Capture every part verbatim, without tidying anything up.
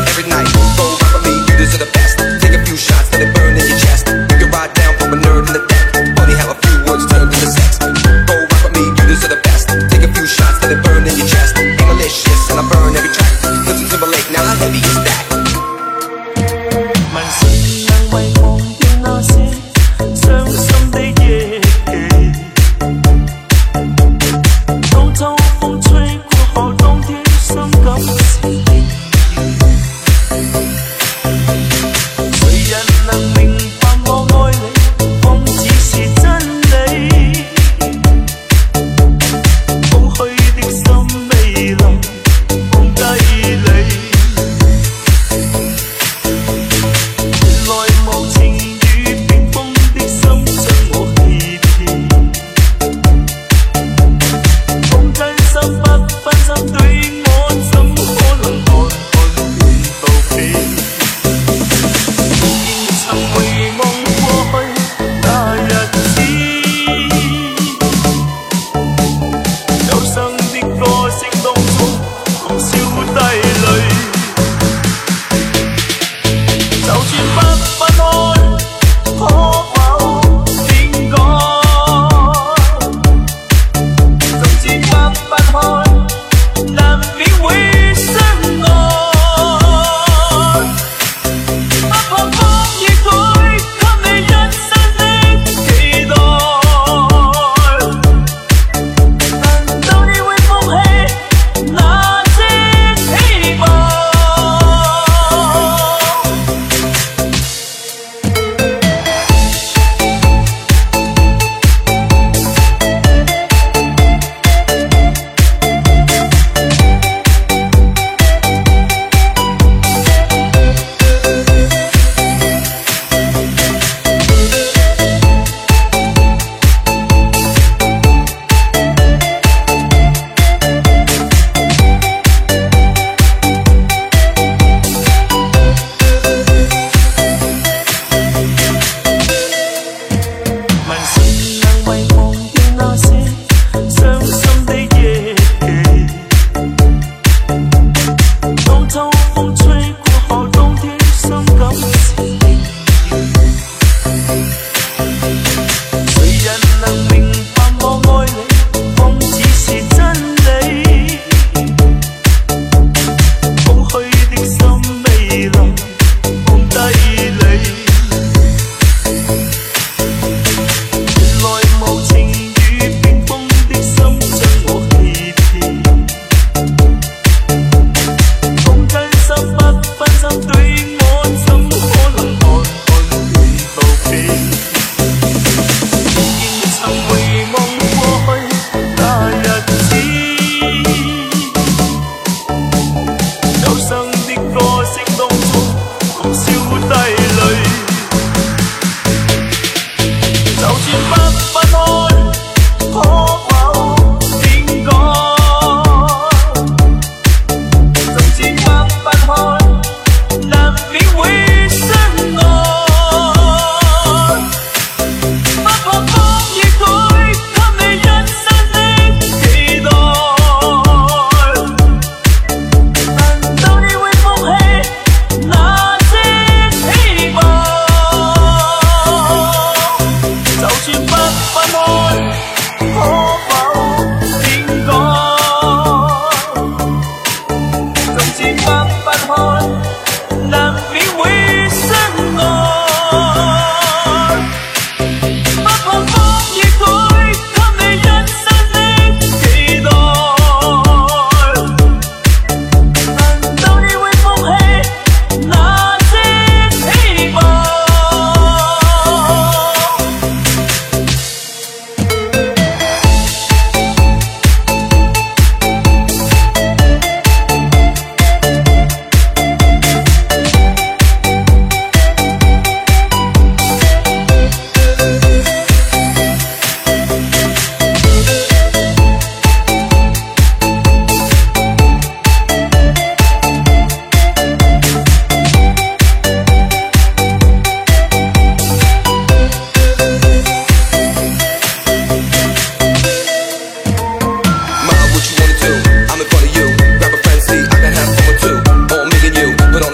every night. Go rock with me, you deserve the best. Take a few shots, let it burn in your chest. You can ride down from a nerd in the deck. Funny how a few words turned into sex. Go rock with me, you deserve the best. Take a few shots, let it burn in your chest. Ain't malicious, and I burn every track. Listen to the lake, now how heavy is that? 满身难忘梦的那些伤心的夜，偷偷风吹过後，當天傷感時，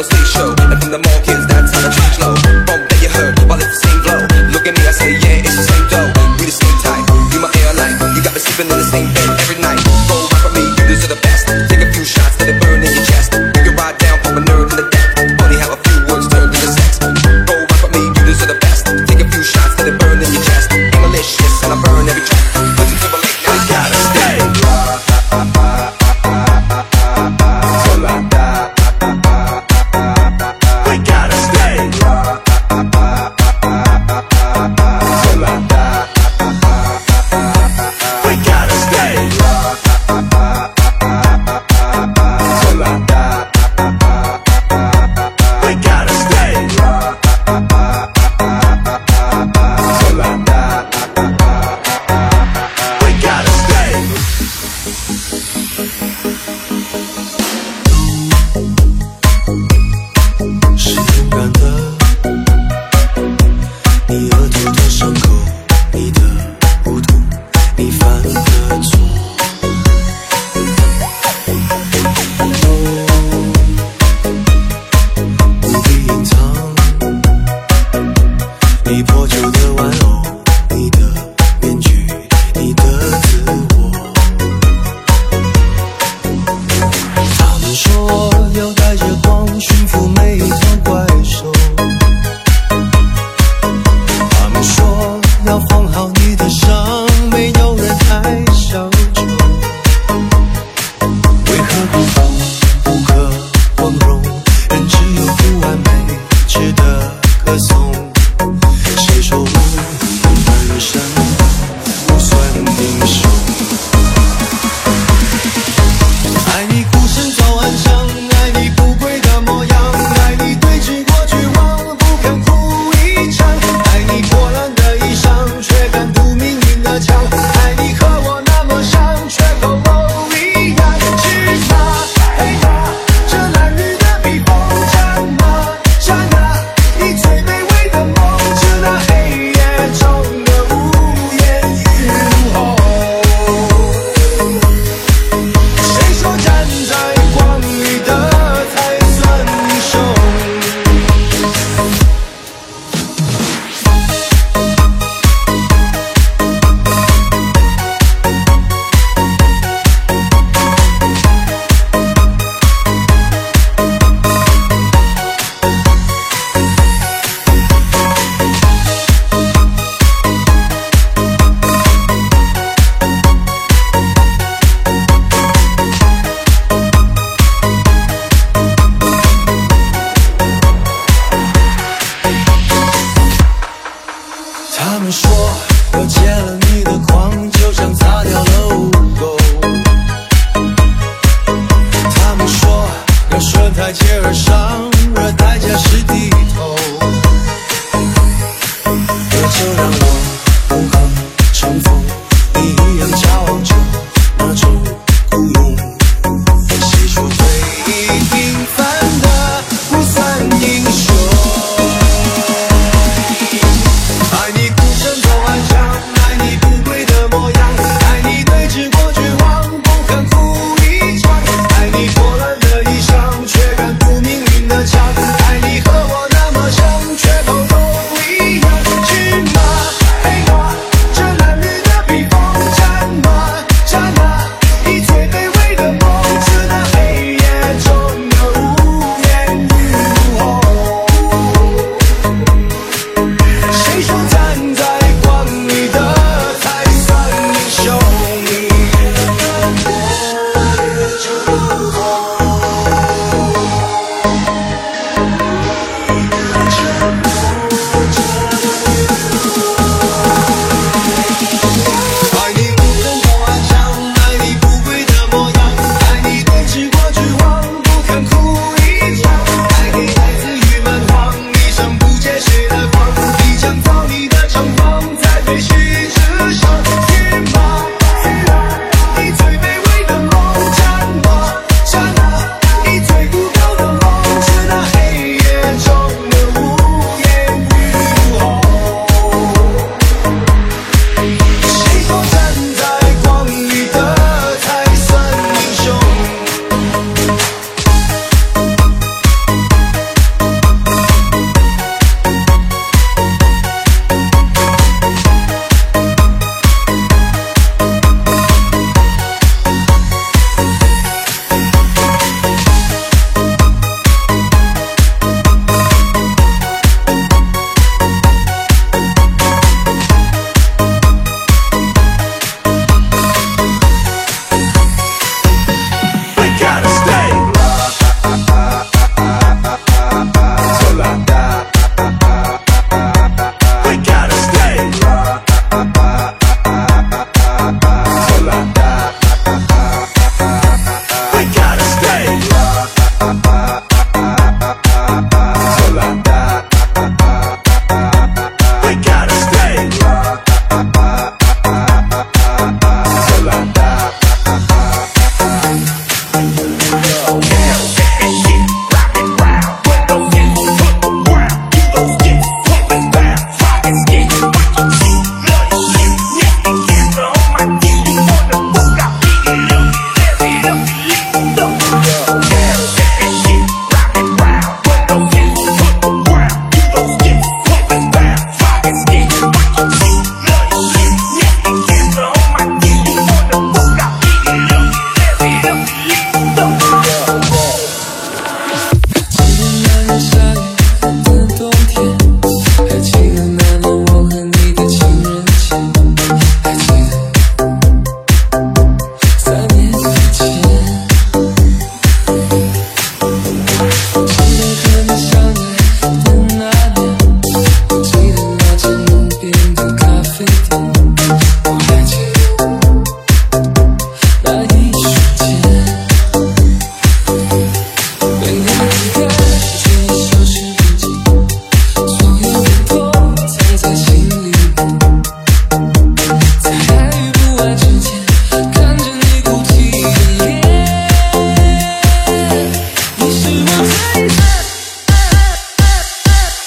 stage show, and from the mall kids, that's how the change low. Bump that you heard, while it's the same flow. Look at me, I say, yeah, it's the same dough. We the same type, you my airline. You got me sleeping in the same bed every night. Go rock with me, you deserve the best. Take a few shots, let it burn in your chest. We can ride down from a nerd in the deck. Funny how a few words turned into sex. Go rock with me, you deserve the best. Take a few shots, let it burn in your chest. I'm malicious and I burn every track. Listen to my late now, you gotta stay. We gotta stay. We gotta stay. We gotta stay. We gotta stay. 是勇敢的，你额头的伤口，你的不同，你犯的错。不必隐藏，你破旧的玩偶，你的面具，你的自我。他们说要带着光驯服每一团怪兽，他们说要放好你的伤，没有人太小丑。为何不疯不可光荣？人只有不完美，值得歌颂。谁说无本身不算英雄？爱你孤身走暗巷，爱你不跪的模样，爱你对峙过绝望，不肯哭一场，爱你破烂的衣裳，却敢堵命运的枪，爱你和我那么像，却口漏一样。是他黑他，这褴褛的披风，战马战啊，你最卑微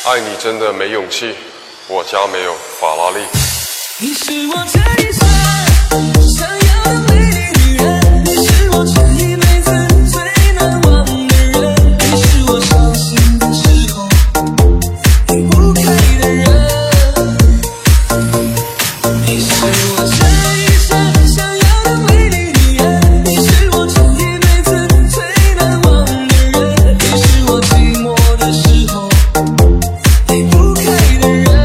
爱你真的没勇气，我家没有法拉利。 你是我这一生想要的美丽女人，你是我这一辈子最难忘的人，你是我伤心的时候离不开的人，你是我这一生想要的美丽女人，你是我这一辈子最难忘的人，你是我寂寞的时候离不开的人。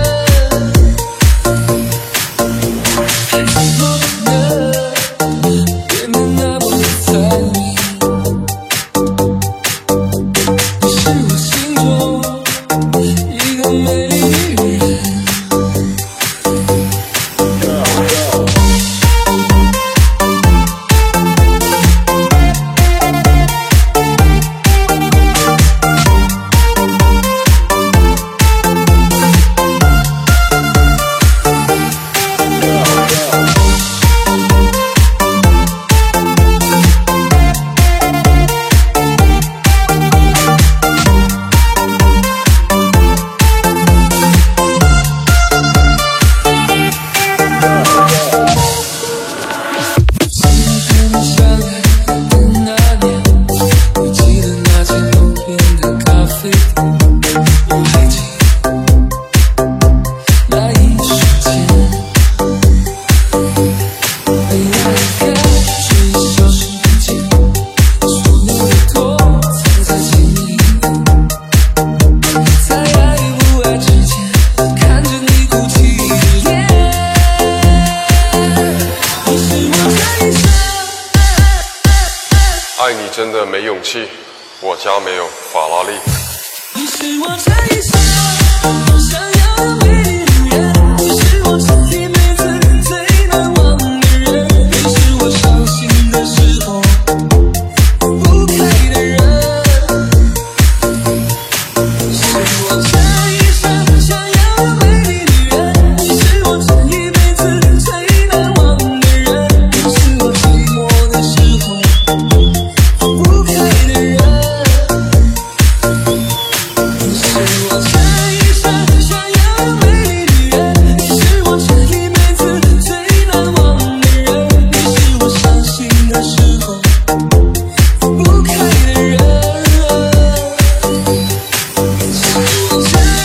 爱你真的没勇气，我家没有法拉利。 你是我这一生想要的美丽女人，你是我这一辈子最难忘的人，你是我伤心的时候不开的人，你是我这一生想要的美丽女人，你是我这一辈子最难忘的人，你是我寂寞的时候不开的人，你是我这一生想要的美丽女人，你是我这一辈子最难忘的人，你是我伤心的时候不开的人，你是我这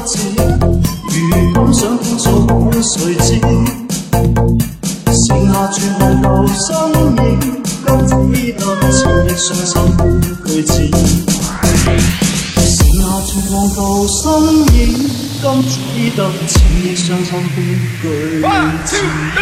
字，如感想枯燥誰知？剩下絕望舊身影，今只得情亦傷心句子。剩下絕望舊身影，今只得情亦傷心句子。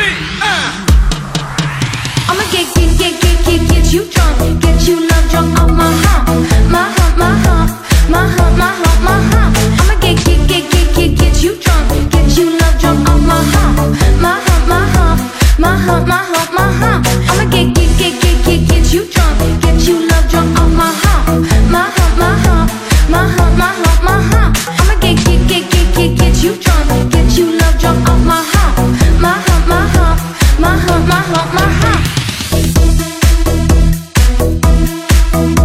I'ma get, get, get, get, get, get you drunk, get you love drunk off my hump, my hump, my hump, my hump, my hump, my hump. I'ma get, get, get, get, get, get you drunk, get you love drunk off my hump, my hump, my hump, my hump, my hump, my hump. I'ma get, get, get, get, get, get you drunk, get you love drunk off my hump, my hump, my hump, my hump, my hump, my hump. I'ma get, get, get, get, get, get you drunk, get you love drunk off my hump, my hump, my hump, my hump, my hump, my hump.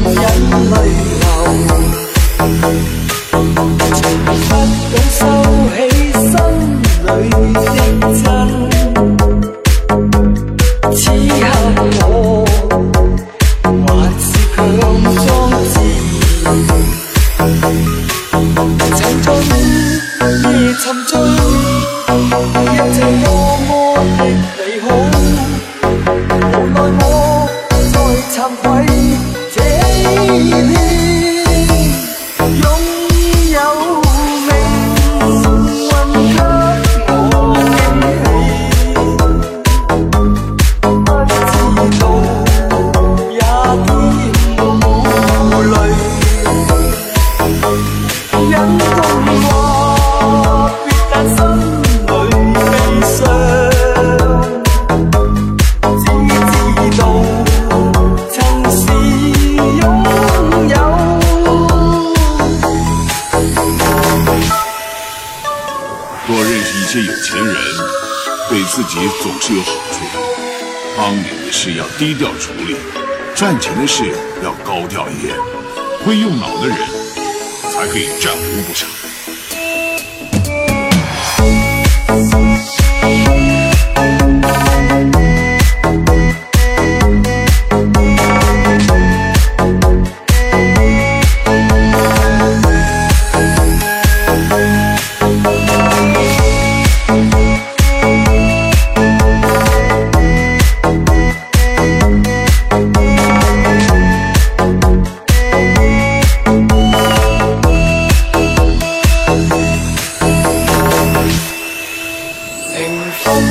眼淚流，不懂收起心裏的真。此刻我還是強裝自然，曾在午夜沉醉，一切多麼的美好。無奈我在慚愧這一天，擁有命運給我驚喜。不知道也添無淚，因公話別但心裏悲傷。只知道曾是擁有。 多认识一些有钱人，对自己总是有好处。帮你的事要低调处理，赚钱的事要高调一点。会用脑的人才可以占无不赏。 平風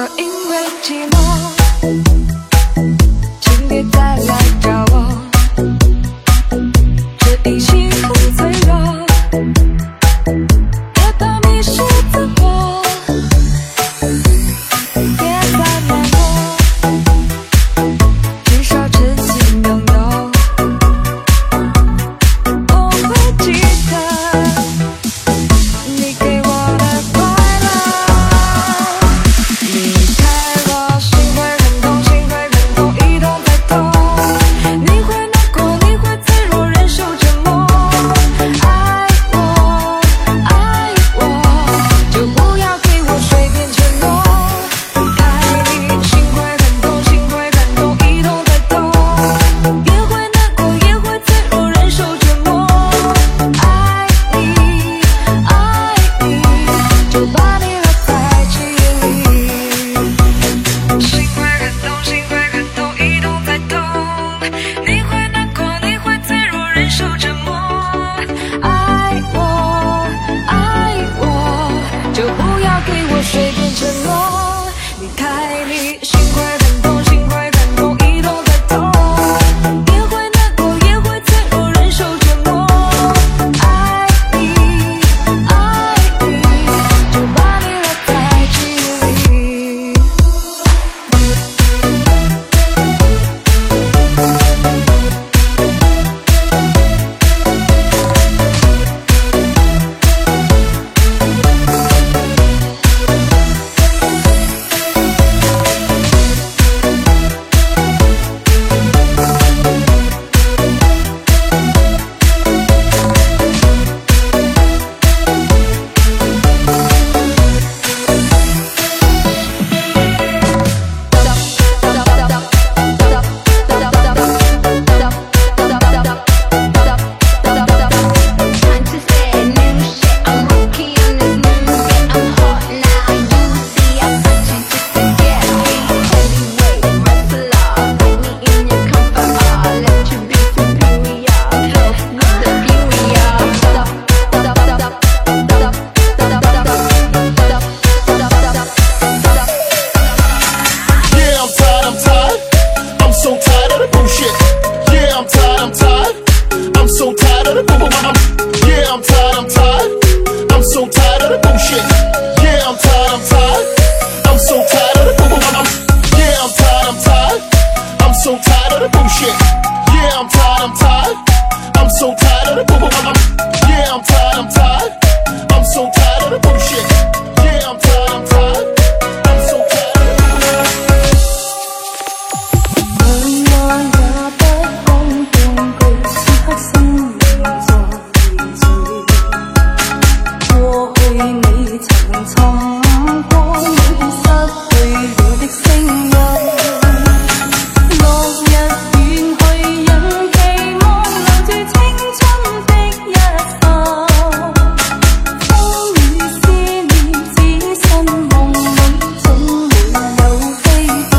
若因为寂寞，请别再来找我，这一心很脆弱，别怕迷失自我，别再难过，至少真心拥有。我会记得你给我的快乐，离开我心会很痛，心会很痛，一痛再痛。你会难过，你会脆弱，忍受折磨。爱我，爱我，就不要给我随便承诺。离开你，心会很痛，心会很痛，一痛再痛。也会难过，也会脆弱，忍受折磨。爱你，爱你，就把你留在记忆里。心会很痛，心会很痛，一痛再痛。你会难过，你会脆弱，忍受折磨。爱我，爱我，就不要给我随便承诺。离开你，心会很痛，心会很痛，一痛再痛。也会难过，也会脆弱，忍受折磨。爱你，爱你，就把你留在记忆里。 Yeah, I'm tired, I'm tired. I'm so tired of the bullshit. Yeah, I'm tired, I'm tired. I'm so tired of the boo boo bum. Yeah, I'm tired, I'm tired. I'm so tired of the bullshit. Yeah, I'm tired, I'm tired. I'm so tired of the boo boo bum. Yeah, I'm tired, I'm tired. I'm so tired of the bullshit. Yeah, I'm tired, I'm tired. I'm so tired of the boo boo bum. Yeah, I'm tired, I'm tired. I'm so tired of the bullshit. Yeah, I'm tired, I'm tired. I'm so tired of the boo boo bum. 问我也不講半句，此刻生命在凝聚。過去你曾尋過，每段失去了的聲音。落日遠去，人期望留住青春的一剎。風雨思念，只身夢裏總會有飛飛。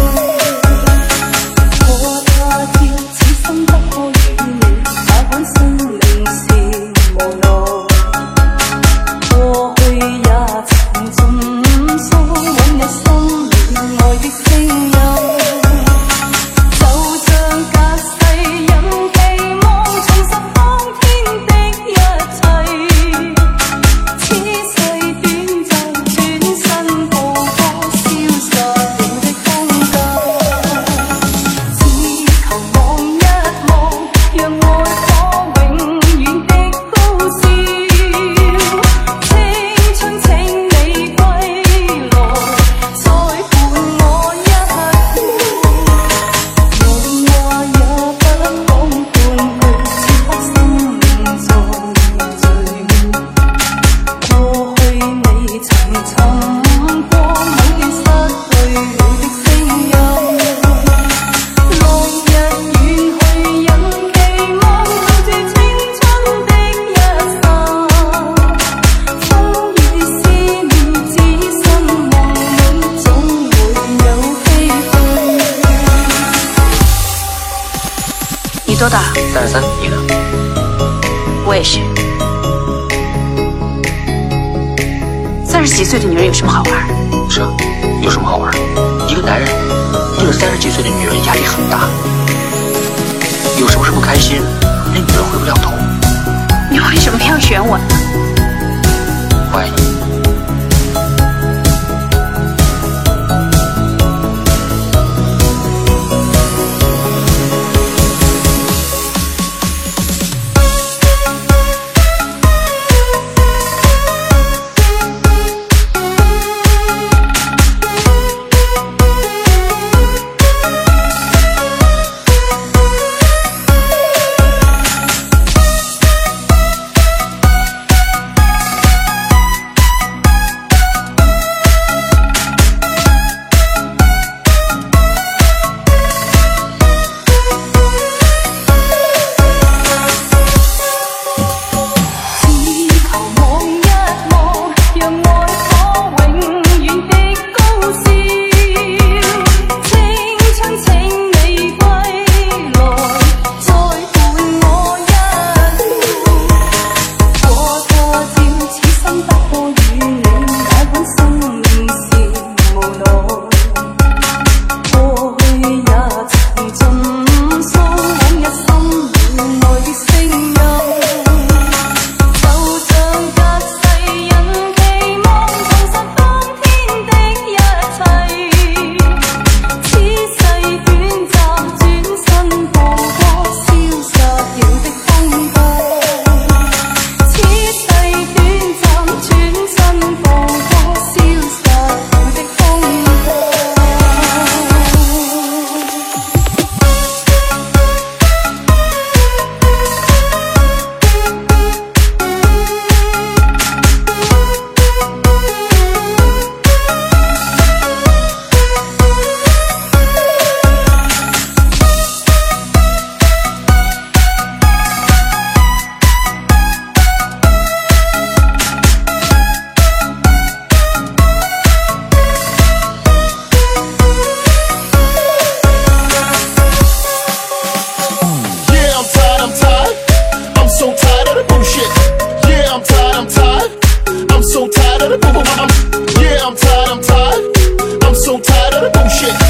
我怕跳，此心不可與你，那本生命是無奈。過去也曾盡訴，往日心裏愛的聲音，就像隔世人期望重拾當天的一切。此世短暫，轉身步過，消失了的空間。只求望一望，讓愛火永遠的高燒。青春請你歸來，再伴我一刻。問話也不講半句，此刻生命在凝聚。過去你曾尋過，某段失去了的聲音。落日遠去，人期望留住青春的一剎。風雨思念，只身夢裏總會有飛飛。 你多大？ 三十三，你呢？ 我也是。三十几岁的女人有什么好玩？ 是啊， 有什么好玩？一个男人对着三十几岁的女人压力很大，有什么事不开心，那女人回不了头。 你为什么要选我？ 我爱你。 Yeah, I'm tired, I'm tired. I'm so tired of the bullshit.